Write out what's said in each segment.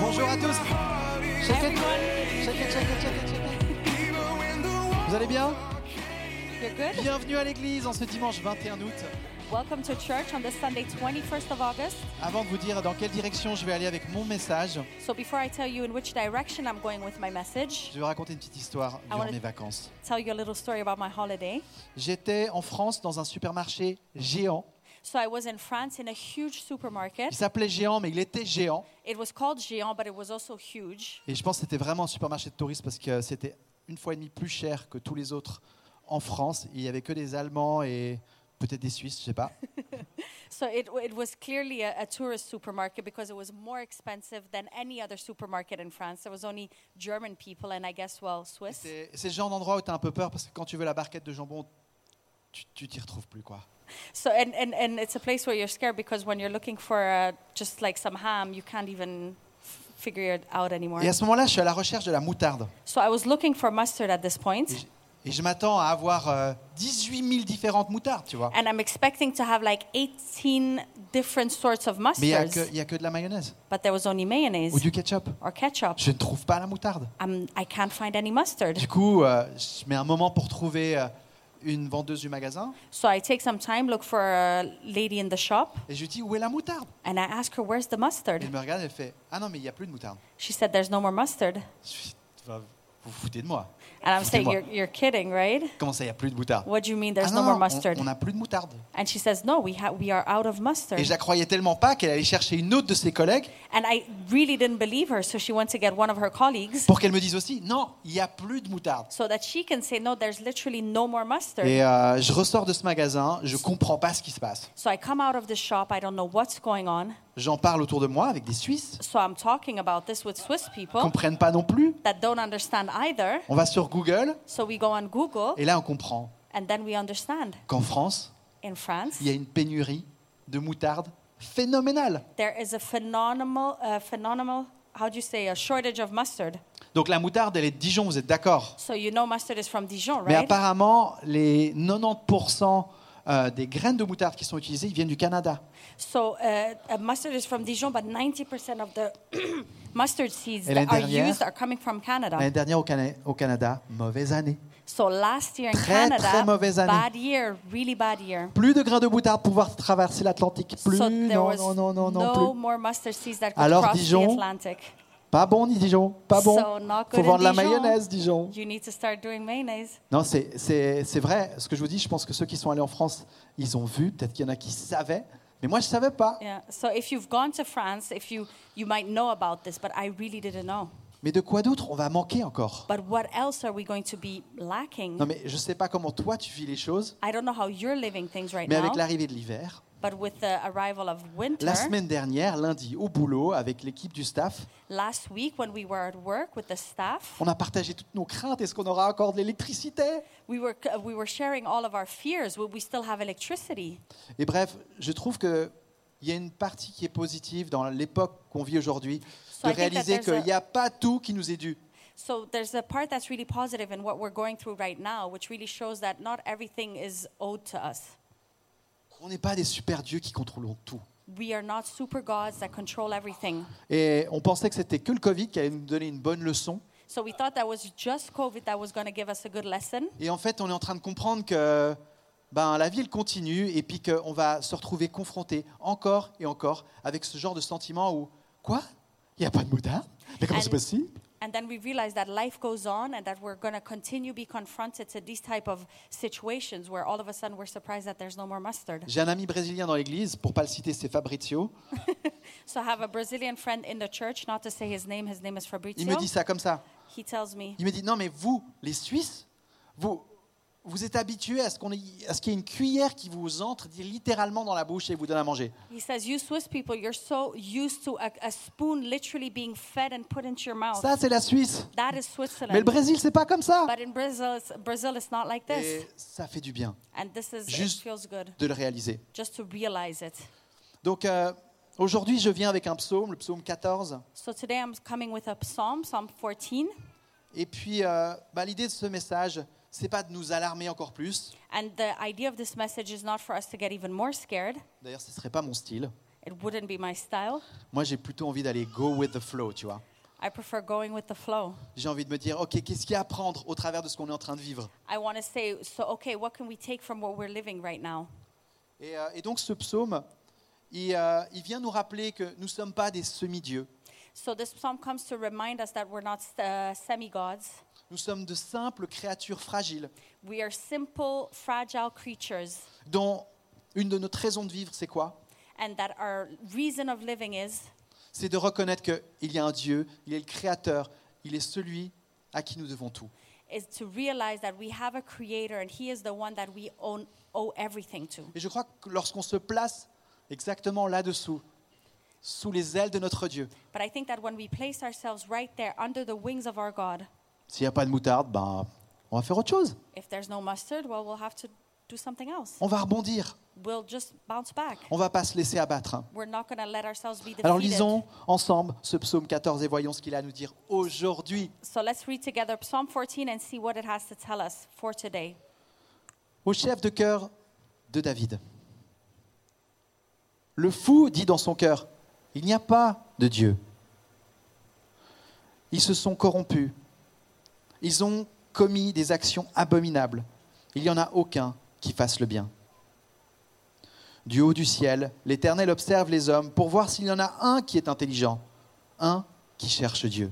Bonjour à tous. Shake it, shake it, shake it, shake it, shake it. Vous allez bien? You're good? Bienvenue à l'église en ce dimanche 21 août. Welcome to church on this Sunday, 21st of August. Avant de vous dire dans quelle direction je vais aller avec mon message, So before I tell you in which direction I'm going with my message, je vais vous raconter une petite histoire durant wanna- mes vacances. tell you a little story about my holiday. J'étais en France dans un supermarché géant. So I was in France in a huge supermarket. Il s'appelait Géant, mais il était géant. It was called Géant, but it was also huge. Et je pense que c'était vraiment un supermarché de touristes parce que c'était une fois et demie plus cher que tous les autres en France. Il n'y avait que des Allemands et peut-être des Suisses, je ne sais pas. So it was clearly a tourist supermarket because it was more expensive than any other supermarket in France. There was only German people and I guess, well, Swiss. C'est le genre d'endroit où tu as un peu peur parce que quand tu veux la barquette de jambon, tu t'y retrouves plus, quoi. So and it's a place where you're scared because when you're looking for just like some ham, you can't even figure it out anymore. Et à ce moment-là, je suis à la recherche de la moutarde. So I was looking for mustard at this point, Et je m'attends à avoir 18 000 différentes moutardes, tu vois. and I'm expecting to have like 18 different sorts of Mais il mustards, n'y a que de la mayonnaise but there was only ou mayonnaise du ketchup. or ketchup. Je ne trouve pas la moutarde. I can't find any mustard. Du coup, je mets un moment pour trouver une vendeuse du magasin So I take some time, look for a lady in the shop, et je lui dis où est la moutarde. and I ask her, where's the Et mustard? elle me regarde et elle fait ah non mais il n'y a plus de moutarde. She said, there's no more mustard. Je suis, vous vous foutez de moi. And I'm saying, Foutez-moi. you're kidding, right? Comment ça il n'y a plus de moutarde? What do you mean Ah there's non, no more non, mustard? on n'a plus de moutarde. And she says, no, we are out of mustard. Et je la croyais tellement pas qu'elle allait chercher une autre de ses collègues And I really didn't believe her, so she went to get one of her colleagues pour qu'elle me dise aussi non, il n'y a plus de moutarde. so that she can say, no, there's literally no more mustard. Et je ressors de ce magasin, je comprends pas ce qui se passe. So I come out of the shop, I don't know what's going on. J'en parle autour de moi avec des Suisses So I'm talking about this with Swiss qui people comprennent pas non plus. that don't understand either. On va sur Google So we go on Google, et là on comprend and then we understand. qu'en France, In France, il y a une pénurie de moutarde phénoménale. there is a phenomenal, how do you say, a shortage of mustard. Donc la moutarde, elle est de Dijon, vous êtes d'accord? So you know mustard is from Dijon, Mais right? apparemment, les 90% des graines de moutarde qui sont utilisées, ils viennent du Canada. So mustard is from Dijon, but 90% of the mustard seeds Et that l'année are dernière- used are coming from Canada. L'année dernière au Canada, mauvaise année. So last year in Très, Canada, très mauvaise année. bad year, really bad year. Plus de grains de moutarde pour pouvoir traverser l'Atlantique. Plus, So there non, was non, non, non, non, no plus. more mustard seeds that could Alors, cross Dijon, the Atlantic. Pas bon, ni Dijon, pas bon. So not Faut good vendre in la Dijon. mayonnaise, Dijon. You need to start doing mayonnaise. Non, c'est vrai. Ce que je vous dis, je pense que ceux qui sont allés en France, ils ont vu. Peut-être qu'il y en a qui savaient. Mais moi, je ne savais pas. Yeah. So if you've gone to France, you might know about this, but I really didn't know. Mais de quoi d'autre on va manquer encore? But what else are we going to be lacking? Non, mais je ne sais pas comment toi, tu vis les choses. I don't know how you're living things right Mais now, avec l'arrivée de l'hiver, but with the arrival of winter, la semaine dernière, lundi, au boulot, avec l'équipe du staff, last week when we were at work with the staff, on a partagé toutes nos craintes. Est-ce qu'on aura encore de l'électricité? we were sharing all of our fears. Will we still have electricity? Et bref, je trouve qu'il y a une partie qui est positive dans l'époque qu'on vit aujourd'hui, So de I think that réaliser there's qu'il n'y a pas tout qui nous est dû. So there's a part that's really positive in what we're going through right now, which really shows that not everything is owed to us. On n'est pas des super dieux qui contrôlons tout. We are not super gods that control everything. Et on pensait que c'était que le Covid qui allait nous donner une bonne leçon. So we thought that was just COVID that was going to give us a good lesson. Et en fait, on est en train de comprendre que la vie, elle continue et puis qu'on va se retrouver confronté encore et encore avec ce genre de sentiment où « Quoi? Il n'y a pas de moutarde? Mais comment And- c'est possible ?» And then we realized that life goes on and that we're going to continue be confronted to these type of situations where all of a sudden we're surprised that there's no more mustard. J'ai un ami brésilien dans l'église, pour ne pas le citer, c'est Fabrizio. So I have a Brazilian friend in the church, not to say his name is Il Fabrizio. me dit ça comme ça. He tells me, Il me dit « Non, mais vous, les Suisses, vous êtes habitués à ce qu'il y ait une cuillère qui vous entre littéralement dans la bouche et vous donne à manger. he says, you Swiss people, you're so used to a spoon literally being fed and put into your mouth. Ça, c'est la Suisse. That is Mais le Switzerland. Brésil, c'est pas comme ça. But in Brazil, it's not like this. Et ça fait du bien And this is, it Juste- feels good de le réaliser. just to realize it. Donc, aujourd'hui, je viens avec un psaume, le psaume 14. So today I'm coming with a Psalm 14. Et puis, l'idée de ce message, c'est pas de nous alarmer encore plus. And the idea of this message is not for us to get even more scared. D'ailleurs, ce serait pas mon style. It wouldn't be my style. Moi, j'ai plutôt envie d'aller go with the flow, tu vois. I prefer going with the flow. J'ai envie de me dire, OK, qu'est-ce qu'il y a à apprendre au travers de ce qu'on est en train de vivre? I want to say, so okay, what can we take from what we're living right now? Et donc, ce psaume, il vient nous rappeler que nous ne sommes pas des semi-dieux. So this psalm comes to remind us that we're not semi-gods. Nous sommes de simples créatures fragiles, We are simple, fragile creatures, dont une de notre raisons de vivre, c'est quoi? and that our reason of living C'est de reconnaître qu'il y a un Dieu, il est le Créateur, il est celui à qui nous devons tout. is to realize that we have a creator and he is the one that we owe everything to. Et je crois que lorsqu'on se place exactement là-dessous, sous les ailes de notre Dieu, But I think that when we place ourselves right there under the wings of our God, s'il n'y a pas de moutarde, ben, on va faire autre chose. if there's no mustard, well, we'll have to do something else. On va rebondir. We'll just bounce back. On ne va pas se laisser abattre. We're not going to let ourselves be Alors defeated. lisons ensemble ce psaume 14 et voyons ce qu'il a à nous dire aujourd'hui. So let's read together Psalm 14 and see what it has to tell us for today. Au chef de cœur de David. Le fou dit dans son cœur, il n'y a pas de Dieu. Ils se sont corrompus. Ils ont commis des actions abominables. Il n'y en a aucun qui fasse le bien. Du haut du ciel, l'Éternel observe les hommes pour voir s'il y en a un qui est intelligent, un qui cherche Dieu.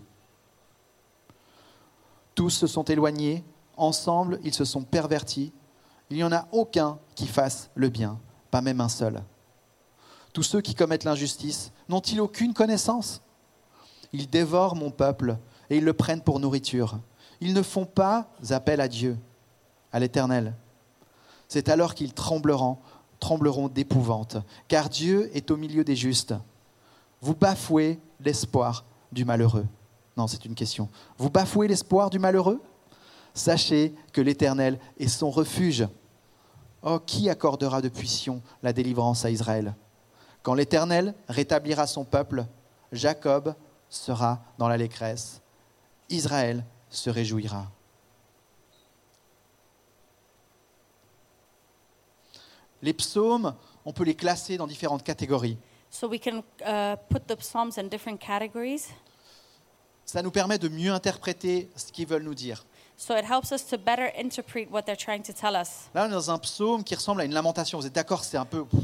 Tous se sont éloignés, ensemble ils se sont pervertis. Il n'y en a aucun qui fasse le bien, pas même un seul. Tous ceux qui commettent l'injustice n'ont-ils aucune connaissance? Ils dévorent mon peuple et ils le prennent pour nourriture. Ils ne font pas appel à Dieu, à l'Éternel. C'est alors qu'ils trembleront d'épouvante, car Dieu est au milieu des justes. Vous bafouez l'espoir du malheureux. Non, c'est une question. Vous bafouez l'espoir du malheureux? Sachez que l'Éternel est son refuge. Oh, qui accordera depuis Sion la délivrance à Israël? Quand l'Éternel rétablira son peuple, Jacob sera dans l'allégresse. Israël se réjouira. Les psaumes, on peut les classer dans différentes catégories. So we can put the Psalms in different categories. Ça nous permet de mieux interpréter ce qu'ils veulent nous dire. So it helps us to better interpret what they're trying to tell us. Là, on est dans un psaume qui ressemble à une lamentation. Vous êtes d'accord? C'est un peu...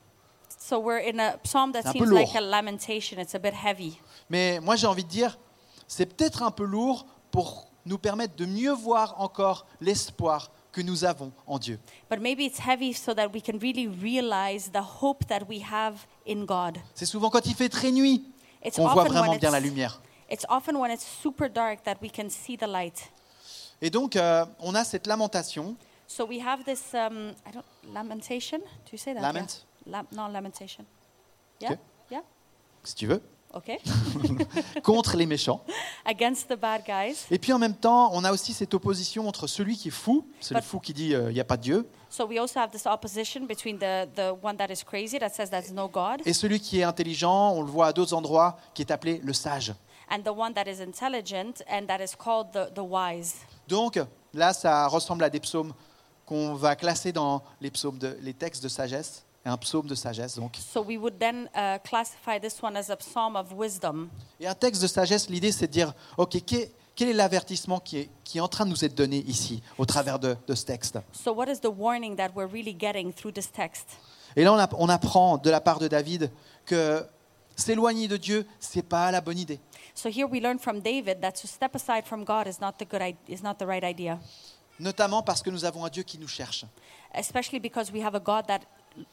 So we're in a psalm that C'est un peu seems lourd. like a lamentation. It's a bit heavy. Mais moi, j'ai envie de dire, c'est peut-être un peu lourd pour nous permettre de mieux voir encore l'espoir que nous avons en Dieu. But maybe it's heavy so that we can really realize the hope that we have in God. C'est souvent quand il fait très nuit It's qu'on voit often vraiment when bien la it's, lumière. it's often when it's super dark that we can see the light. Et donc, on a cette lamentation. So we have this lamentation. Do you say that? Lament. Yeah. No, lamentation. Yeah? Okay. Yeah? Si tu veux, Okay. contre les méchants. Against the bad guys. Et puis en même temps, on a aussi cette opposition entre celui qui est fou, c'est le fou qui dit il n'y a pas de Dieu, So we also have this opposition between the one that is crazy, that says there's no God, et celui qui est intelligent, on le voit à d'autres endroits, qui est appelé le sage. and the one that is intelligent and that is called the wise. Donc là, ça ressemble à des psaumes qu'on va classer dans les textes de sagesse, et un psaume de sagesse donc. So we would then classify this one as a psalm of wisdom. Et un texte de sagesse, l'idée c'est de dire, ok, quel est l'avertissement qui est en train de nous être donné ici, au travers de ce texte? So what is the warning that we're really getting through this text? Et là, on apprend de la part de David que s'éloigner de Dieu, c'est pas la bonne idée. So here we learn from David that to step aside from God is not the right idea, Notamment parce que nous avons un Dieu qui nous cherche. especially because we have a God that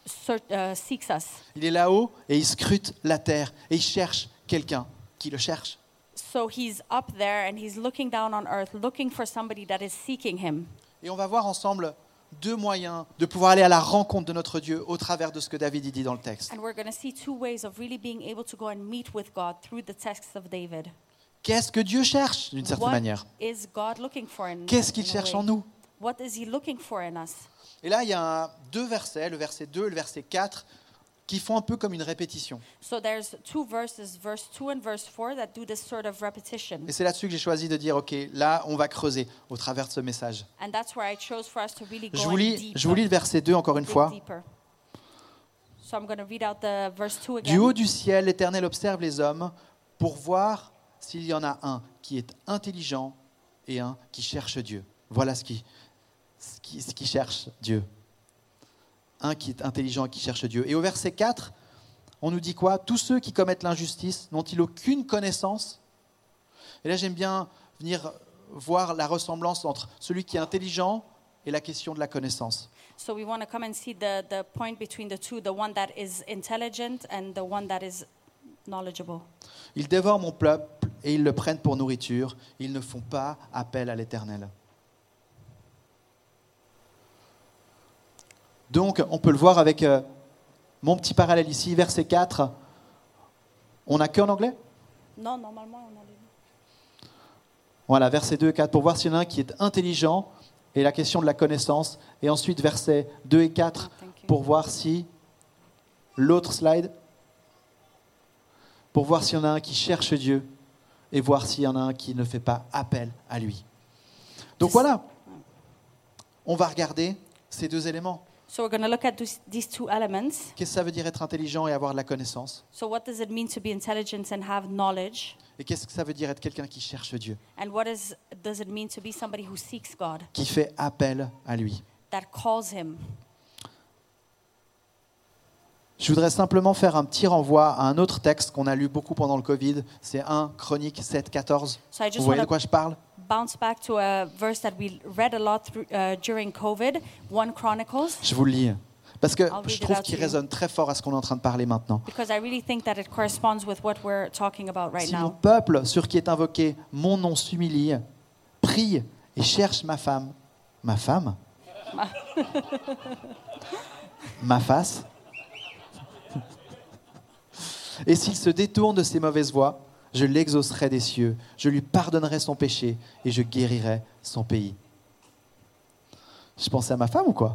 seeks us. Il est là-haut et il scrute la terre et il cherche quelqu'un qui le cherche. So he's up there and he's looking down on earth, looking for somebody that is seeking him. Et on va voir ensemble deux moyens de pouvoir aller à la rencontre de notre Dieu au travers de ce que David y dit dans le texte. And we're going to see two ways of really being able to go and meet with God through the text of David. Qu'est-ce que Dieu cherche d'une certaine What manière? is God looking for in Qu'est-ce qu'il in a cherche way? en nous? What is he looking for in us? Et là, il y a deux versets, le verset 2 et le verset 4, qui font un peu comme une répétition. So there's two verses, verse 2 and verse 4, that do this sort of repetition. Et c'est là-dessus que j'ai choisi de dire, ok, là, on va creuser au travers de ce message. And that's where I chose for us to really go Je vous in lis le verset 2 encore une dig fois. deeper. So I'm going to read out the verse 2 Du haut again. du ciel, l'Éternel observe les hommes pour voir s'il y en a un qui est intelligent et un qui cherche Dieu. Voilà ce qui cherche Dieu. Un qui est intelligent et qui cherche Dieu. Et au verset 4, on nous dit quoi ? Tous ceux qui commettent l'injustice n'ont-ils aucune connaissance ? Et là, j'aime bien venir voir la ressemblance entre celui qui est intelligent et la question de la connaissance. So we want to come and see the point between the two, the one that is intelligent and the one that is knowledgeable. Ils dévorent mon peuple et ils le prennent pour nourriture. Ils ne font pas appel à l'Éternel. Donc, on peut le voir avec mon petit parallèle ici, verset 4. On n'a qu'en anglais ? Non, normalement, on a les... Voilà, versets 2 et 4, pour voir s'il y en a un qui est intelligent et la question de la connaissance. Et ensuite, versets 2 et 4, Thank you. pour voir si... L'autre slide. Pour voir s'il y en a un qui cherche Dieu et voir s'il y en a un qui ne fait pas appel à lui. Donc voilà, on va regarder ces deux éléments. So we're going to look at these two elements. Qu'est-ce que ça veut dire être intelligent et avoir de la connaissance ? So what does it mean to be intelligent and have knowledge? Et qu'est-ce que ça veut dire être quelqu'un qui cherche Dieu, And does it mean to be somebody who seeks God, qui fait appel à lui ? that calls him? Je voudrais simplement faire un petit renvoi à un autre texte qu'on a lu beaucoup pendant le Covid. C'est 1 Chroniques 7, 14. So I just Vous voyez want de quoi to je parle ? bounce back to a verse that we read a lot during COVID, 1 Chronicles, Je vous le lis. Parce que I'll read je it trouve out qu'il to you. résonne très fort à ce qu'on est en train de parler maintenant. because I really think that it corresponds with what we're talking about right Si mon now. peuple, sur qui est invoqué mon nom, s'humilie, prie et cherche ma femme, ma face, et s'il se détourne de ses mauvaises voies, je l'exaucerai des cieux, je lui pardonnerai son péché et je guérirai son pays. Je pensais à ma femme ou quoi ?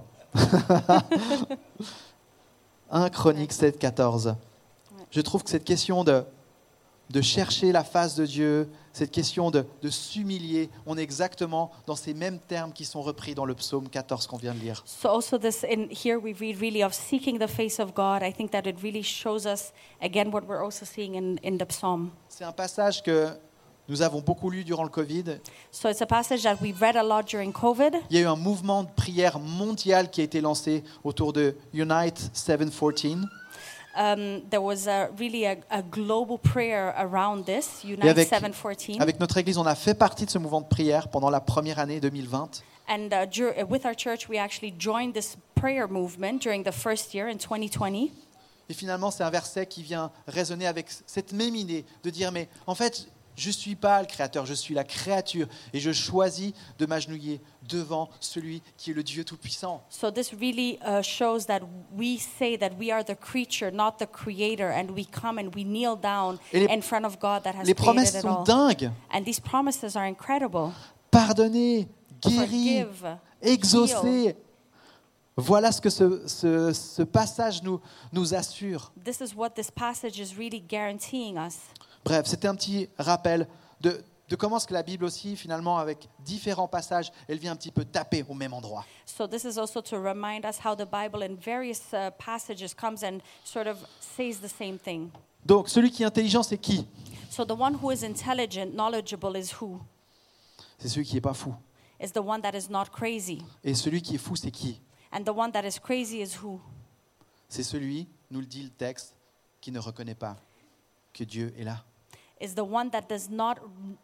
1 Chroniques 7, 14. Je trouve que cette question de chercher la face de Dieu, cette question de s'humilier, on est exactement dans ces mêmes termes qui sont repris dans le psaume 14 qu'on vient de lire. So also this in here we read really of seeking the face of God. I think that it really shows us again what we're also seeing in the psalm. C'est un passage que nous avons beaucoup lu durant le Covid. So it's a passage that we read a lot during COVID. Il y a eu un mouvement de prière mondial qui a été lancé autour de Unite 714. There was really a global prayer around this, Unite avec- 714. Avec notre Église, on a fait partie de ce mouvement de prière pendant la première année 2020. And with our church, we actually joined this prayer movement during the first year in 2020. Et finalement, c'est un verset qui vient résonner avec cette même idée de dire, mais en fait, je ne suis pas le Créateur, je suis la créature et je choisis de m'agenouiller devant celui qui est le Dieu Tout-Puissant. So this really shows that we say that we are the creature, not the creator, and we come and we kneel down Et in front of God that has Les created promesses it sont all. dingues. And these promises are incredible. Pardonner, guérir, Forgive, exaucer. heal. Voilà ce que ce passage nous assure. This is what this passage is really guaranteeing us. Bref, c'était un petit rappel de comment est-ce que la Bible aussi, finalement, avec différents passages, elle vient un petit peu taper au même endroit. So this is also to remind us how the Bible in various passages comes and sort of says the same thing. Donc, celui qui est intelligent, c'est qui ? So the one who is intelligent, knowledgeable is who? C'est celui qui n'est pas fou. Is the one that is not crazy. Et celui qui est fou, c'est qui ? And the one that is crazy is who? C'est celui, nous le dit le texte, qui ne reconnaît pas que Dieu est là. Is the one that does not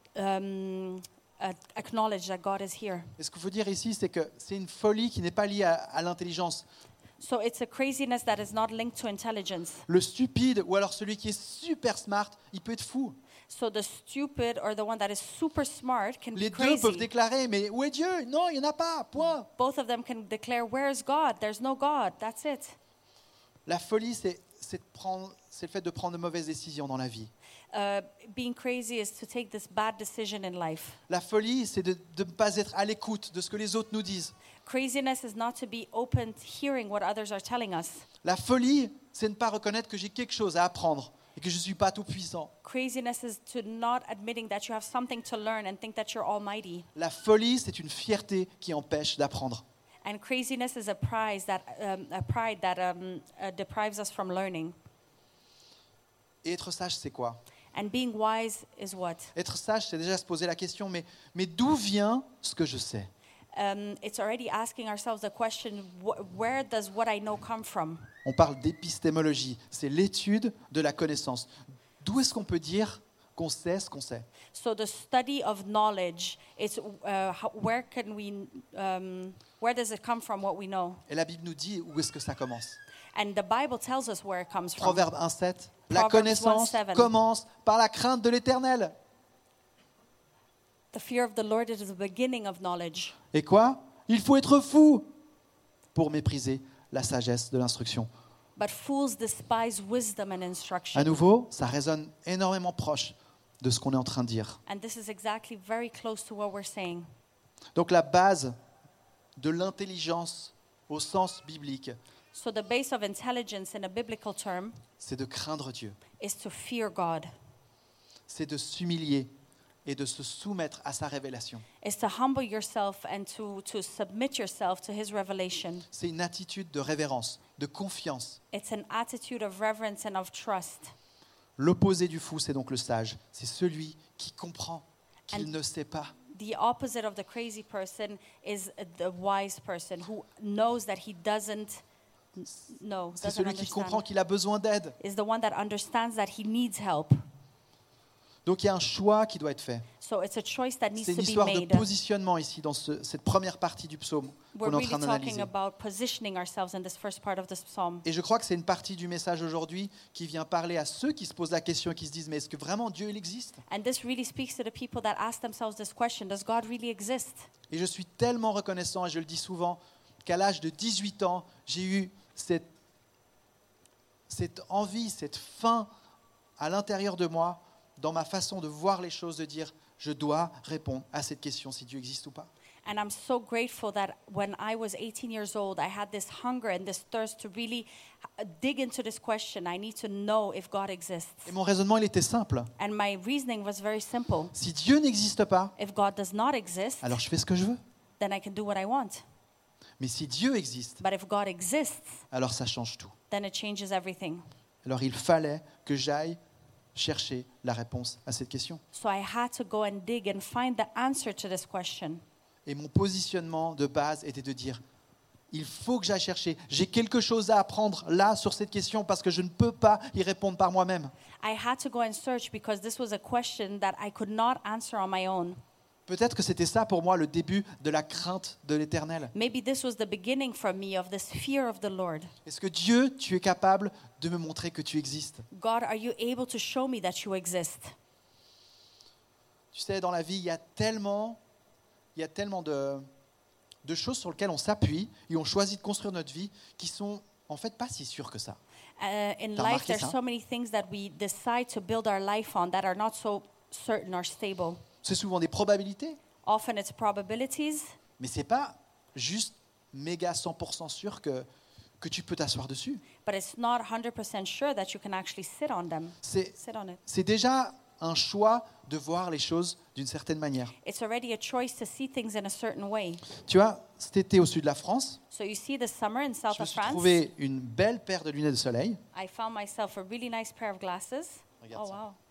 acknowledge that God is here. Et ce qu'il faut dire ici, c'est que c'est une folie qui n'est pas liée à l'intelligence. So it's a craziness that is not linked to intelligence. Le stupide ou alors celui qui est super smart, il peut être fou. So the stupid or the one that is super smart can Les be deux peuvent crazy. déclarer, mais où est Dieu ? Non, il n'y en a pas, point. Both of them can declare, where is God? There's no God. That's it. La folie, c'est le fait de prendre de mauvaises décisions dans la vie. Being crazy is to take this bad decision in life. La folie, c'est de ne pas être à l'écoute de ce que les autres nous disent. Craziness is not to be open to hearing what others are telling us. La folie, c'est ne pas reconnaître que j'ai quelque chose à apprendre et que je ne suis pas tout puissant. Craziness is to not admitting that you have something to learn and think that you're almighty. La folie, c'est une fierté qui empêche d'apprendre. And craziness is a pride that deprives us from learning. Et être sage, c'est quoi? And being wise is what? Être sage, c'est déjà se poser la question, mais d'où vient ce que je sais? It's already asking ourselves the question, where does what I know come from? On parle d'épistémologie, c'est l'étude de la connaissance. D'où est-ce qu'on peut dire qu'on sait ce qu'on sait? So the study of knowledge is where does it come from what we know? Et la Bible nous dit où est-ce que ça commence. And the Bible tells us where it comes from. Proverbe 1,7, la Proverbs connaissance 1:7. commence par la crainte de l'Éternel. The fear of the Lord is the beginning of knowledge. Et quoi? Il faut être fou pour mépriser la sagesse de l'instruction. But fools despise wisdom and instruction. À nouveau, ça résonne énormément proche de ce qu'on est en train de dire. And this is exactly very close to what we're saying. Donc la base de l'intelligence au sens biblique, So the base of intelligence in a biblical term c'est de craindre Dieu, is to fear God, c'est de s'humilier et de se soumettre à sa révélation. is to humble yourself and to submit yourself to his revelation. C'est une attitude de révérence, de confiance. It's an attitude of reverence and of trust. L'opposé du fou, c'est donc le sage. C'est celui qui comprend qu'il And- ne sait pas. The opposite of the crazy person is the wise person who knows that he doesn't know, C'est doesn't celui qui comprend understand. qu'il a besoin d'aide. Is the one that understands that he needs help. Donc il y a un choix qui doit être fait. So it's a choice that needs C'est to une be histoire de made. positionnement ici, dans cette première partie du psaume We're qu'on est en really train talking d'analyser. about positioning ourselves in this first part of this psalm. Et je crois que c'est une partie du message aujourd'hui qui vient parler à ceux qui se posent la question et qui se disent, mais est-ce que vraiment Dieu il existe? And this really speaks to the people that ask themselves this question, does God really exist? Et je suis tellement reconnaissant, et je le dis souvent, qu'à l'âge de 18 ans, j'ai eu cette envie, cette faim à l'intérieur de moi, dans ma façon de voir les choses, de dire, je dois répondre à cette question si Dieu existe ou pas. And I'm so grateful that when I was 18 years old, I had this hunger and this thirst to really dig into this question. I need to know if God exists. Et mon raisonnement, il était simple. And my reasoning was very simple. Si Dieu n'existe pas, If God does not exist, alors je fais ce que je veux. then I can do what I want. Mais si Dieu existe, But if God exists, alors ça change tout. then it changes everything. Alors il fallait que j'aille chercher la réponse à cette question. So I had to go and dig and find the answer to this question. Et mon positionnement de base était de dire, il faut que j'aille chercher. J'ai quelque chose à apprendre là sur cette question parce que je ne peux pas y répondre par moi-même. I had to go and search because this was a question that I could not answer on my own. Peut-être que c'était ça pour moi le début de la crainte de l'Éternel. Maybe this was the beginning for me of this fear of the Lord. Est-ce que Dieu, tu es capable de me montrer que tu existes? God, are you able to show me that you exist? Tu sais, dans la vie, il y a tellement de choses sur lesquelles on s'appuie et on choisit de construire notre vie qui sont en fait pas si sûres que ça. In T'as life, remarqué there's ça? so many things that we decide to build our life on that are not so certain or stable. C'est souvent des probabilités, Often it's probabilities, mais c'est pas juste méga 100% sûr que tu peux t'asseoir dessus. but it's not 100% sure that you can actually sit on them. C'est Sit on it. c'est déjà un choix de voir les choses d'une certaine manière. It's already a choice to see things in a certain way. Tu vois, cet été au sud de la France, So you see, this summer in south je me of suis France, trouvé une belle paire de lunettes de soleil. I found myself a really nice pair of glasses. Regarde Oh ça. wow!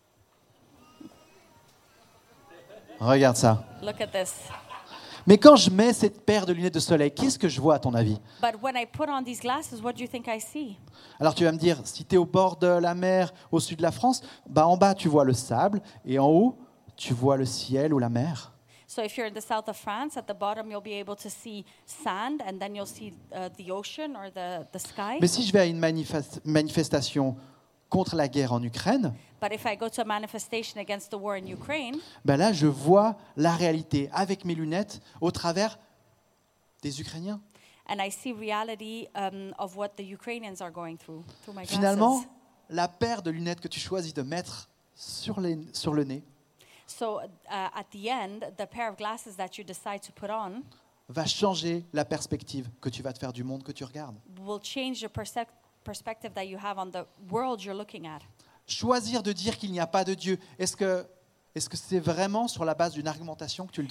Regarde ça. Look at this. Mais quand je mets cette paire de lunettes de soleil, qu'est-ce que je vois à ton avis? But when I put on these glasses, what do you think I see? Alors tu vas me dire, si tu es au bord de la mer au sud de la France, bah en bas tu vois le sable et en haut tu vois le ciel ou la mer. So if you're in the south of France, at the bottom you'll be able to see sand, and then you'll see the ocean or the sky. Mais si je vais à une manifestation contre la guerre en Ukraine, But if I go to a manifestation against the war in Ukraine, ben là je vois la réalité avec mes lunettes au travers des Ukrainiens. and I see reality of what the Ukrainians are going through my glasses. Finalement, la paire de lunettes que tu choisis de mettre sur le nez So at the end, the pair of glasses that you decide to put on va changer la perspective que tu vas te faire du monde que tu regardes. will change the perspective that you have on the world you're looking at. Choisir de dire qu'il n'y a pas de Dieu, est-ce que c'est vraiment sur la base d'une argumentation que tu le dis?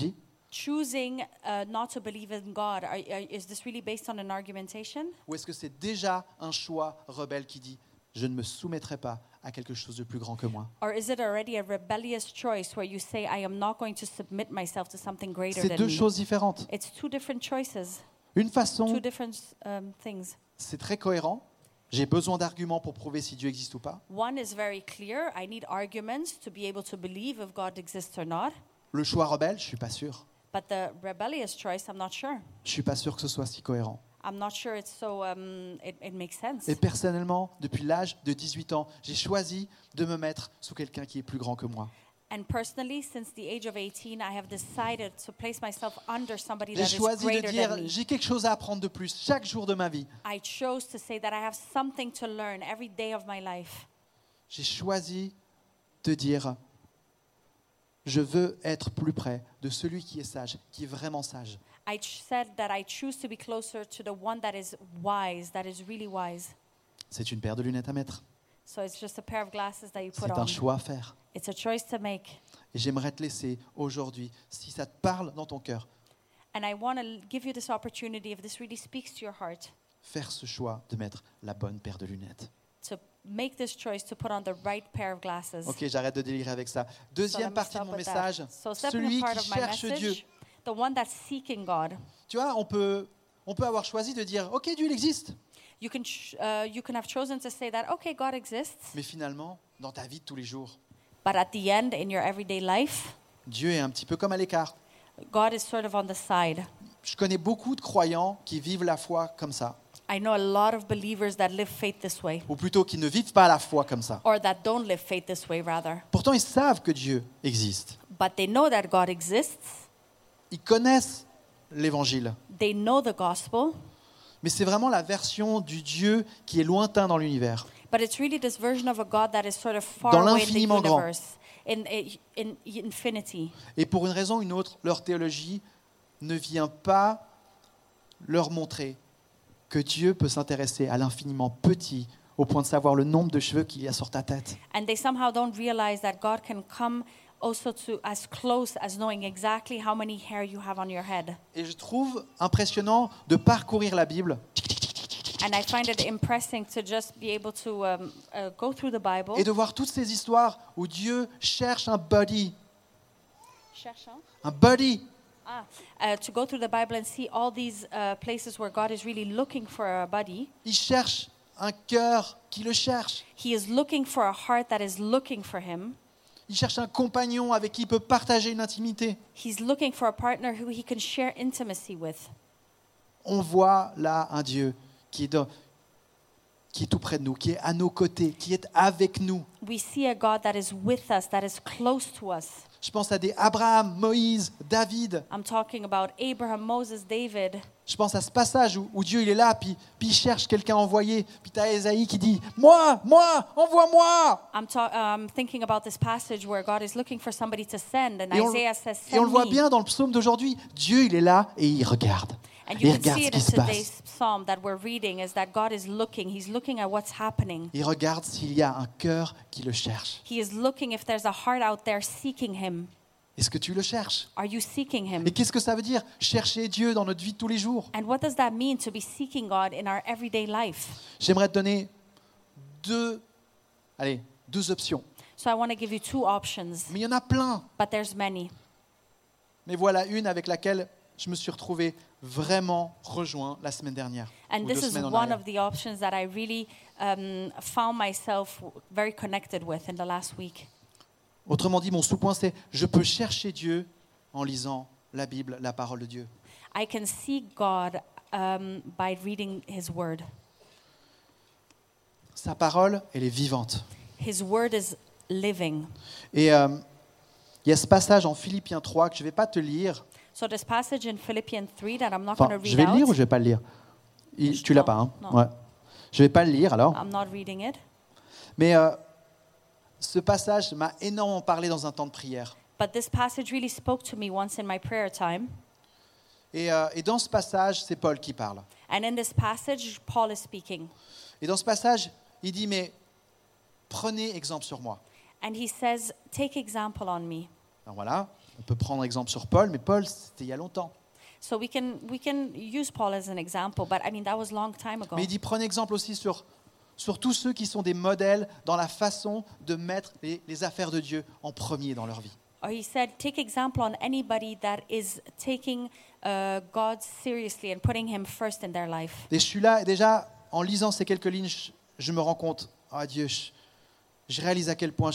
choosing not to believe in God, is this really based on an argumentation? Ou est-ce que c'est déjà un choix rebelle qui dit « Je ne me soumettrai pas à quelque chose de plus grand que moi Or is it already a rebellious choice where you say, I am not going to submit myself to something » greater C'est than deux me? choses différentes. It's two different choices, Une two façon, different things. c'est très cohérent. J'ai besoin d'arguments pour prouver si Dieu existe ou pas. One is very clear. I need arguments to be able to believe if God exists or not. Le choix rebelle, je suis pas sûr. But the rebellious choice, I'm not sure. Je suis pas sûr que ce soit si cohérent. I'm not sure it's so, it makes sense. Et personnellement, depuis l'âge de 18 ans, j'ai choisi de me mettre sous quelqu'un qui est plus grand que moi. And personally, since the age of 18, I have decided to place myself under somebody J'ai that is choisi de greater dire, than me. j'ai quelque chose à apprendre de plus chaque jour de ma vie. I chose to say that I have something to learn every day of my life. J'ai choisi de dire, je veux être plus près de celui qui est sage, qui est vraiment sage. Said that I choose to be closer to the one that is wise, that is really wise. C'est une paire de lunettes à mettre. So it's just a pair of glasses that you put C'est on. un choix à faire. It's a choice to make. Et j'aimerais te laisser aujourd'hui, si ça te parle dans ton cœur, And I want to give you this opportunity, if this really speaks to your heart, faire ce choix de mettre la bonne paire de lunettes. to make this choice to put on the right pair of glasses. Ok, j'arrête de délirer avec ça. So let Deuxième me partie de stop mon with that. message, So second celui part qui of my cherche Dieu. message, the one that's seeking God. Tu vois, on peut avoir choisi de dire, ok, Dieu il existe. You can have chosen to say that, okay, God exists, Mais finalement, dans ta vie de tous les jours, but at the end, in your everyday life, Dieu est un petit peu comme à l'écart. God is sort of on the side. Je connais beaucoup de croyants qui vivent la foi comme ça. I know a lot of believers that live faith this way, Ou plutôt qui ne vivent pas la foi comme ça. or that don't live faith this way, rather. Pourtant, ils savent que Dieu existe. But they know that God exists, Ils connaissent l'évangile. they know the gospel, Mais c'est vraiment la version du Dieu qui est lointain dans l'univers. but it's really this version of a God that is sort of far Dans away in the l'infiniment grand. universe, in infinity. Et pour une raison ou une autre, leur théologie ne vient pas leur montrer que Dieu peut s'intéresser à l'infiniment petit au point de savoir le nombre de cheveux qu'il y a sur ta tête. And they somehow don't realize that God can come also to as close as knowing exactly how many hair you have on your head. Et je trouve impressionnant de parcourir la Bible And I find it impressing to just be able to go through the Bible. et de voir toutes ces histoires où Dieu cherche un buddy. Un buddy. To go through the Bible and see all these places where God is really looking for a buddy. Il cherche un cœur qui le cherche. He is looking for a heart that is looking for him. Il cherche un compagnon avec qui il peut partager une intimité. He's looking for a partner who he can share intimacy with. On voit là un Dieu qui est tout près de nous, qui est à nos côtés, qui est avec nous. We see a God that is with us, that is close to us. Je pense à des Abraham, Moïse, David. I'm talking about Abraham, Moses, David. Je pense à ce passage où Dieu il est là, puis il cherche quelqu'un à envoyer. Puis tu as Ésaïe qui dit « Moi, envoie-moi !» I'm thinking about this passage where God is looking for somebody to send, and Et on, Isaiah says, et on le send voit me. bien dans le psaume d'aujourd'hui. Dieu il est là et il regarde. And Il you can regarde see ce it qui in se today's passe. psalm that we're reading, is that God is looking. He's looking at what's happening. Il regarde s'il y a un cœur qui le cherche. He is looking if there's a heart out there seeking him. Est-ce que tu le cherches? Are you seeking him? Et qu'est-ce que ça veut dire, chercher Dieu dans notre vie de tous les jours? And what does that mean to be seeking God in our everyday life? J'aimerais te donner deux options. So I want to give you two options, Mais il y en a plein. but there's many. Mais voilà une avec laquelle je me suis retrouvé vraiment rejoint la semaine dernière. And ou this 2 is semaines en one arrière. of the options that I really found myself very connected with in the last week. Autrement dit, mon sous-point, c'est je peux chercher Dieu en lisant la Bible, la parole de Dieu. I can seek God by reading His Word. Sa parole, elle est vivante. His Word is living. Et il y a ce passage en Philippiens 3 que je ne vais pas te lire. So this passage in Philippians 3 that I'm not Enfin, going to je read vais le lire ou out. je ne vais pas le lire? Tu l'as pas, hein? Non. Ouais. Je ne vais pas le lire alors. I'm not reading it. Mais ce passage m'a énormément parlé dans un temps de prière. But this passage really spoke to me once in my prayer time. Et dans ce passage, c'est Paul qui parle. And in this passage, Paul is speaking. Et dans ce passage, il dit, mais prenez exemple sur moi. And he says, take example on me. Alors voilà, on peut prendre exemple sur Paul, mais Paul, c'était il y a longtemps. So we can use Paul as an example, but I mean that was a long time ago. Mais il dit, prenez exemple aussi sur tous ceux qui sont des modèles dans la façon de mettre les affaires de Dieu en premier dans leur vie. Or he said, take example on anybody that is taking God seriously and putting him first in their life. Et je suis là, et déjà, en lisant ces quelques lignes, je me rends compte, oh Dieu, je réalise à quel point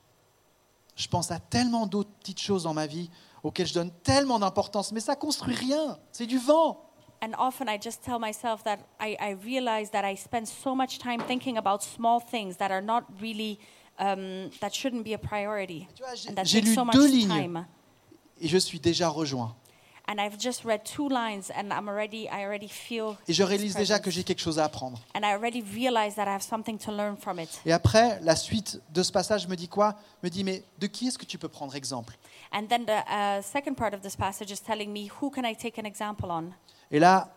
je pense à tellement d'autres petites choses dans ma vie auxquelles je donne tellement d'importance, mais ça construit rien, c'est du vent. And often I just tell myself that I realize that I spend so much time thinking about small things that are not really, that shouldn't be a priority. Tu vois, And that j'ai takes lu so much 2 lignes time. et je suis déjà rejoint. And I've just read 2 lines and I already feel Et je his réalise déjà que presence. j'ai quelque chose à apprendre. And I already realize that I have something to learn from it. Et après, la suite de ce passage me dit quoi ? Me dit, mais de qui est-ce que tu peux prendre exemple ? And then the second part of this passage is telling me, who can I take an example on? Et là,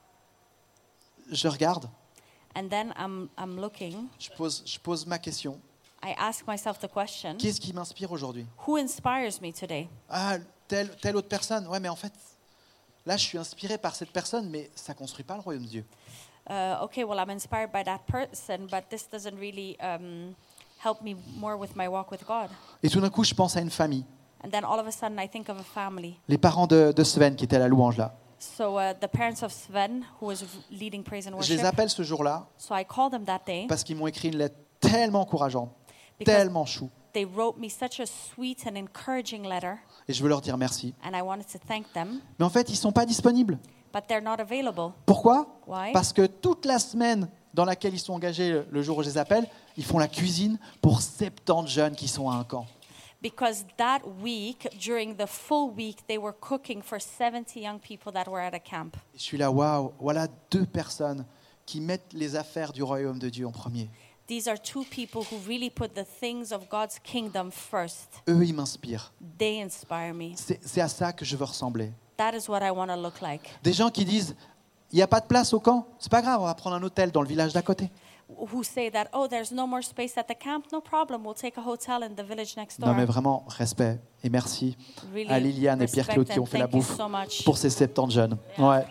je regarde, And then I'm looking. je pose ma question. I ask myself the question, Qui est-ce qui m'inspire aujourd'hui ? who inspires me today? Ah, telle autre personne. Ouais, mais en fait, là, je suis inspiré par cette personne, mais ça ne construit pas le royaume de Dieu. Okay, well, I'm inspired by that person, but this doesn't really help me more with my walk with God. Et tout d'un coup, je pense à une famille. And then all of a sudden, I think of a family. Les parents de Sven qui étaient à la louange là. So the parents of Sven, who was leading praise and Je les worship, appelle ce jour-là so I called them that day parce qu'ils m'ont écrit une lettre tellement encourageante, because tellement chou. they wrote me such a sweet and encouraging letter, Et je veux leur dire merci. and I wanted to thank them, Mais en fait, ils ne sont pas disponibles. but they're not available. Pourquoi ? Why? Parce que toute la semaine dans laquelle ils sont engagés le jour où je les appelle, ils font la cuisine pour 70 jeunes qui sont à un camp. Because that week, during the full week, they were cooking for 70 young people that were at a camp. Et je suis là, waouh, voilà 2 personnes qui mettent les affaires du royaume de Dieu en premier. These are 2 people who really put the things of God's kingdom first. Eux, ils m'inspirent. They inspire me. C'est à ça que je veux ressembler. That is what I want to look like. Des gens qui disent, il n'y a pas de place au camp, c'est pas grave, on va prendre un hôtel dans le village d'à côté. Who say that, oh, there's no more space at the camp, no problem, we'll take a hotel in the village next door. Non mais vraiment, respect et merci Really à Liliane et Pierre respect Claude qui and ont fait la thank you bouffe so much. pour ces 70 jeunes. Ouais.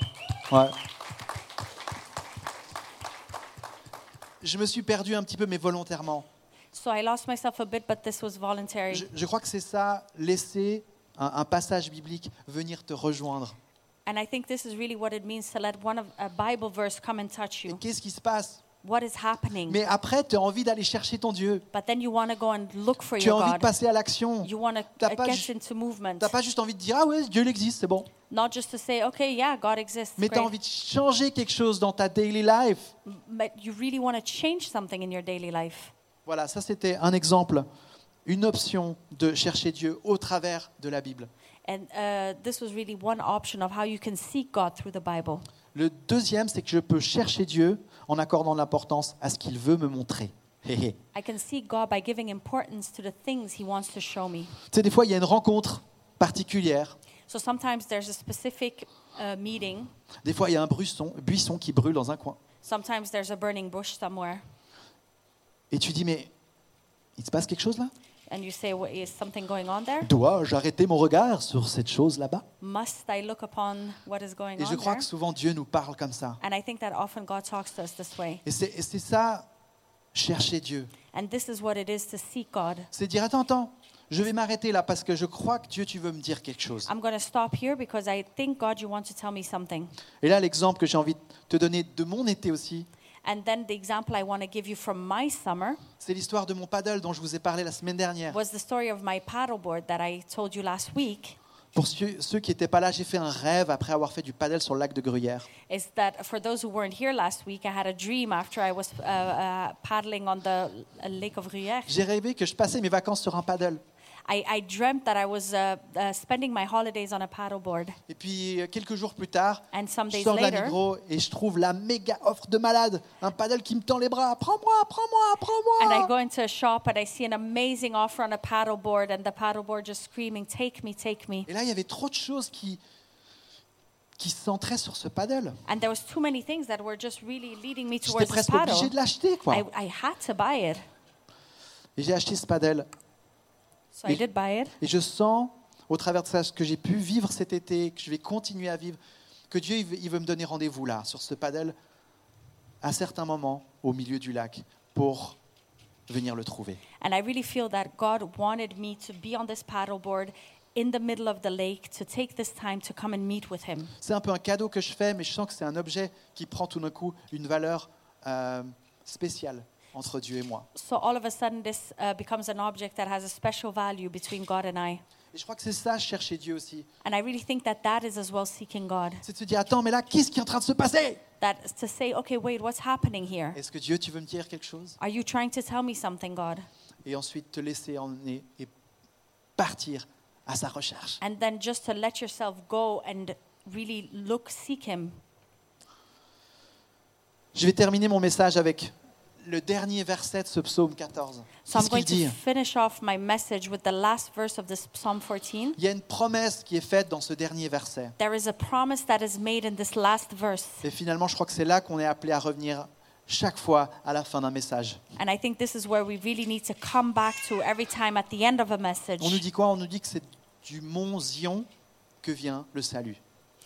Je me suis perdu un petit peu, mais volontairement. So I lost myself a bit, but this was voluntary. Je crois que c'est ça, laisser un passage biblique venir te rejoindre. And I think this is really what it means to let a Bible verse come and touch Et you. qu'est-ce qui se passe ? What is happening? Mais après, tu as envie d'aller chercher ton Dieu. But then you want to go and look for Tu as your envie de God. passer à l'action. You want to T'as pas get into movement. Tu n'as pas juste envie de dire, ah ouais, Dieu il existe, c'est bon. Not just to say, okay, yeah, God exists. Mais tu as Great. envie de changer quelque chose dans ta daily life. But you really want to change something in your daily life. Voilà, ça c'était un exemple, une option de chercher Dieu au travers de la Bible. And this was really one option of how you can seek God through the Bible. Le deuxième, c'est que je peux chercher Dieu en accordant de l'importance à ce qu'il veut me montrer. Hé, hé. I can seek God by giving importance to the things He wants to show me. Tu sais, des fois, il y a une rencontre particulière. So sometimes there's a specific meeting. Des fois, il y a un buisson qui brûle dans un coin. Sometimes there's a burning bush somewhere. Et tu dis, mais il se passe quelque chose là ? And you say, well, is something going on there? Dois-je arrêter mon regard sur cette chose là-bas ? Must I look upon what is going Et je on crois there? que souvent Dieu nous parle comme ça. And I think that often God talks to us this way. Et c'est ça, chercher Dieu. And this is what it is to seek God. C'est dire, attends, je vais m'arrêter là parce que je crois que Dieu, tu veux me dire quelque chose. I'm going to stop here because I think, God, you want to tell me something. Et là, l'exemple que j'ai envie de te donner de mon été aussi, And then the example I want to give you from my summer c'est l'histoire de mon paddle dont je vous ai parlé la semaine dernière. was the story of my paddleboard that I told you last week. Pour ceux qui n'étaient pas là, j'ai fait un rêve après avoir fait du paddle sur le lac de Gruyère. Is that for those who weren't here last week, I had a dream after I was paddling on the lake of Gruyère. J'ai rêvé que je passais mes vacances sur un paddle. I dreamt that I was spending my holidays on a paddleboard. Et puis, quelques jours plus tard, And some je days sors de la later, Migros et je trouve la méga offre de malade. Un paddle qui me tend les bras. Prends-moi, prends-moi, and I prends-moi. go into a shop and I see an amazing offer on a paddleboard, and the paddleboard just screaming, "Take me, take me!" Et là, il y avait trop de choses qui centraient sur ce paddle. And there was too many things that were just really leading me J'étais towards this presque obligé paddle. de l'acheter, quoi. I had to buy it. Et j'ai acheté ce paddle. So I did buy it. Et je sens, au travers de ça, ce que j'ai pu vivre cet été, que je vais continuer à vivre, que Dieu il veut me donner rendez-vous là, sur ce paddle, à certains moments, au milieu du lac, pour venir le trouver. And I really feel that God wanted me to be on this paddleboard in the middle of the lake, to take this time to come and meet with him. C'est un peu un cadeau que je fais, mais je sens que c'est un objet qui prend tout d'un coup une valeur spéciale entre Dieu et moi. So all of a sudden this becomes an object that has a special value between God and I. Et je crois que c'est ça, chercher Dieu aussi. And I really think that that is as well seeking God. C'est de se dire, attends, mais là, qu'est-ce qui est en train de se passer? That is to say, okay, wait, what's happening here? Est-ce que Dieu, tu veux me dire quelque chose? Are you trying to tell me something, God? Et ensuite te laisser emmener et partir à sa recherche. And then just to let yourself go and really seek him. Je vais terminer mon message avec le dernier verset de ce psaume 14. So I'm Qu'est-ce going qu'il dit? to finish off my message with the last verse of this Psalm 14. Il y a une promesse qui est faite dans ce dernier verset. There is a promise that is made in this last verse. Et finalement, je crois que c'est là qu'on est appelé à revenir chaque fois à la fin d'un message. And I think this is where we really need to come back to every time at the end of a message. On nous dit quoi? On nous dit que c'est du mont Zion que vient le salut.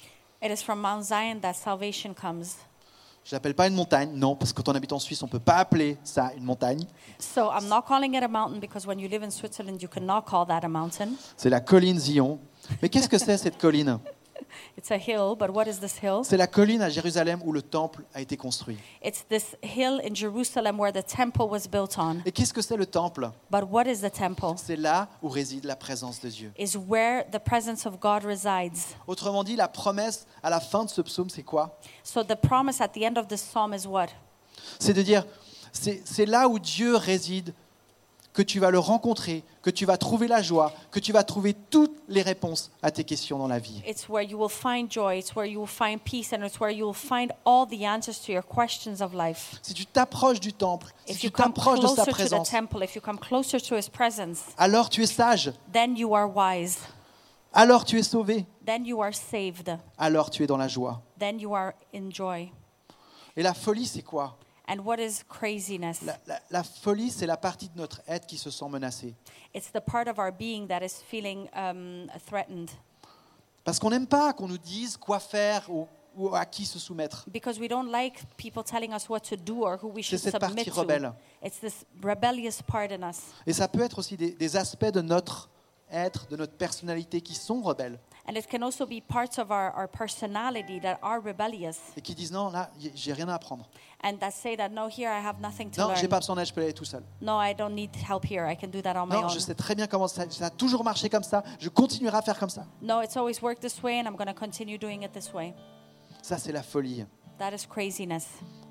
It is from Mount Zion that salvation comes. Je l'appelle pas une montagne, non, parce que quand on habite en Suisse, on ne peut pas appeler ça une montagne. So I'm not calling it a mountain because when you live in Switzerland, you cannot call that a mountain. C'est la colline Zion. Mais qu'est-ce que c'est cette colline? It's a hill, but what is this hill? C'est la colline à Jérusalem où le temple a été construit. It's this hill in Jerusalem where the temple was built on. Et qu'est-ce que c'est le temple? But what is the temple? C'est là où réside la présence de Dieu. Is where the presence of God resides. Autrement dit, la promesse à la fin de ce psaume, c'est quoi? So the promise at the end of this psalm is what? C'est de dire, c'est là où Dieu réside, que tu vas le rencontrer, que tu vas trouver la joie, que tu vas trouver toutes les réponses à tes questions dans la vie. It's where you will find joy, it's where you will find peace, and it's where you will find all the answers to your questions of life. Si tu t'approches du temple, si If tu you come t'approches de sa closer to the présence, temple, if you come closer to his presence, alors tu es sage, then you are wise, alors tu es sauvé, then you are saved, alors tu es dans la joie. then you are in joy. Et la folie, c'est quoi? And what is craziness? La folie, c'est la partie de notre être qui se sent menacée. It's the part of our being that is feeling threatened. Parce qu'on n'aime pas qu'on nous dise quoi faire ou à qui se soumettre. Because we don't like people telling us what to do or who we should C'est cette submit partie to. rebelle. It's this rebellious part in us. Et ça peut être aussi des aspects de notre être, de notre personnalité qui sont rebelles And it can also be parts of our personality that are rebellious et qui disent non, là, j'ai rien à apprendre. and that say that, no, here I have nothing to Non, j'ai learn. pas besoin d'aide, je peux y aller tout seul. No, I don't need help here. I can do that on my Non, own. je sais très bien comment ça a toujours marché comme ça, je continuerai à faire comme ça. No, it's always worked this way and I'm going to continue doing it this way. Ça, c'est la folie. That is craziness.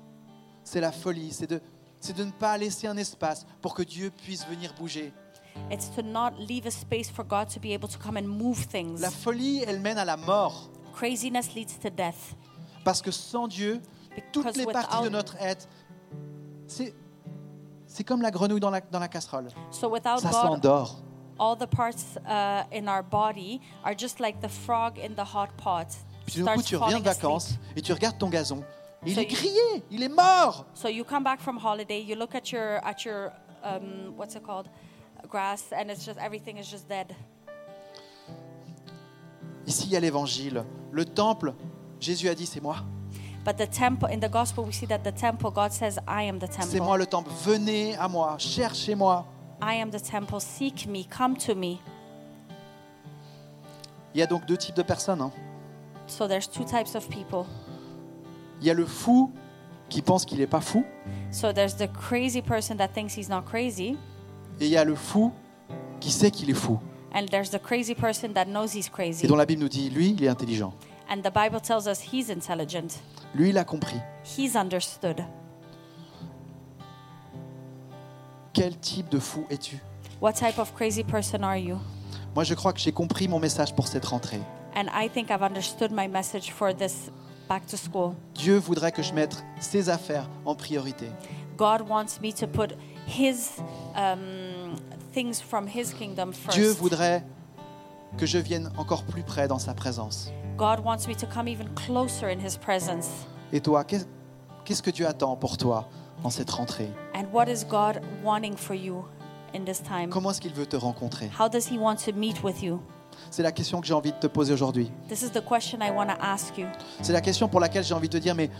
C'est la folie, c'est de ne pas laisser un espace pour que Dieu puisse venir bouger. It's to not leave a space for God to be able to come and move things. La folie, elle mène à la mort. Craziness leads to death. Parce que sans Dieu, toutes Because les parties de without- notre être, c'est comme la grenouille dans la casserole. So without Ça God, s'endort. all the parts in our body are just like the frog in the hot pot. Puis d'un coup, tu reviens de falling asleep. vacances et tu regardes ton gazon. Et il So est you- grillé, il est mort. So you come back from holiday, you look at your what's it called, grass, and it's just everything is just dead. Ici, il y a l'évangile. Le temple, Jésus a dit, c'est moi. But the temple, in the gospel, we see that the temple, God says, I am the C'est temple. moi le temple. Venez à moi, cherchez-moi. I am the temple. Seek me, come to me. Il y a donc deux types de personnes. Hein. So there's two types of people. Il y a le fou qui pense qu'il n'est pas fou. So there's the crazy person that thinks he's not crazy, Et il y a le fou qui sait qu'il est fou. and there's the crazy person that knows he's Et crazy. dont la Bible nous dit, lui, il est intelligent. And the Bible tells us he's intelligent. Lui, il a compris. He's understood. Quel type de fou es-tu? What type of crazy person are you? Moi, je crois que j'ai compris mon message pour cette rentrée. And I think I've understood my message for this back to school. Dieu voudrait que je mette ses affaires en priorité. God wants me to put his things from his kingdom Dieu first. voudrait que je vienne encore plus près dans sa présence. God wants me to come even closer in his presence. Et toi, qu'est-ce que Dieu attend pour toi en cette rentrée? And what is God wanting for you in this time? Comment est-ce qu'il veut te rencontrer? How does he want to meet with you? C'est la question que j'ai envie de te poser aujourd'hui. This is the question I want to ask you. C'est la question pour laquelle j'ai envie de te dire, mais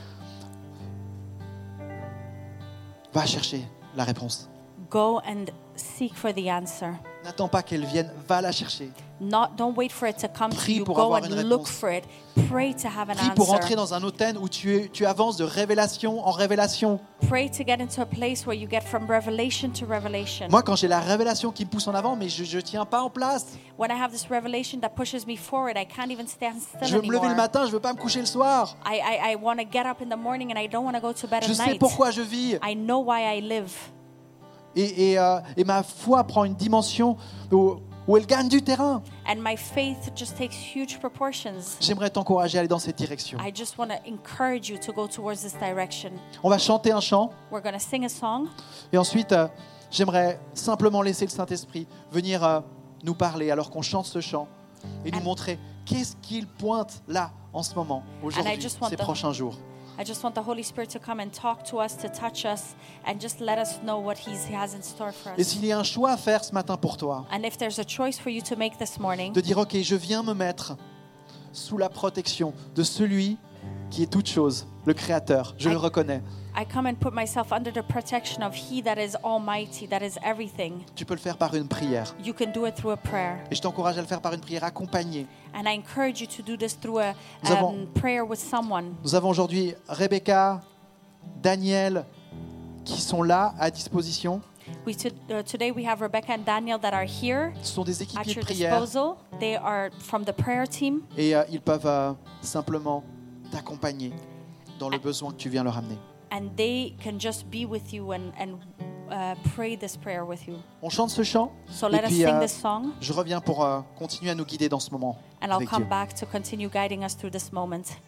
va chercher la réponse. Go and seek for the answer. N'attends pas qu'elle vienne, va la chercher. Don't wait for it to come to Prie you. pour Go avoir and une look réponse. for it. Pray to have an Prie pour entrer answer. dans un hôtel où tu avances de révélation en révélation. Pray to get into a place where you get from revelation to revelation. Moi, quand j'ai la révélation qui me pousse en avant, mais je ne tiens pas en place. When I have this revelation that pushes me forward, I can't even stand Je still veux me lever le anymore. matin, je ne veux pas me coucher le soir. I want to get up in the morning and I don't want to go to bed Je at sais night. pourquoi je vis. I know why I live. Et ma foi prend une dimension où elle gagne du terrain. And my faith just takes huge proportions. J'aimerais t'encourager à aller dans cette direction. I just want to encourage you to go towards this direction. On va chanter un chant. We're going to sing a song. Et ensuite, j'aimerais simplement laisser le Saint-Esprit venir nous parler alors qu'on chante ce chant et nous montrer qu'est-ce qu'il pointe là en ce moment, aujourd'hui, just want ces the- prochains jours. I just want the Holy Spirit to come and talk to us, to touch us, and just let us know what He has in store for Et us. s'il y a un choix à faire ce matin pour toi, And if there's a choice for you to make this morning, de dire, OK, je viens me mettre sous la protection de celui qui est toute chose, le Créateur, je le reconnais. I come and put myself under the protection of He that is almighty, that is everything. Tu peux le faire par une prière. You can do it through a prayer. Et je t'encourage à le faire par une prière accompagnée. And I encourage you to do this through a Nous avons- prayer with someone. Nous avons aujourd'hui Rebecca, Daniel, qui sont là à disposition. Today we have Rebecca and Daniel that are here Ce sont des at équipiers de your prière disposal. They are from the prayer team. et ils peuvent simplement t'accompagner dans le besoin que tu viens leur amener. And they can just be with you and pray this prayer with you. On chante ce chant So et let us puis sing this song, je reviens pour continuer à nous guider dans ce moment and I'll avec come Dieu. back to continue guiding us through this moment.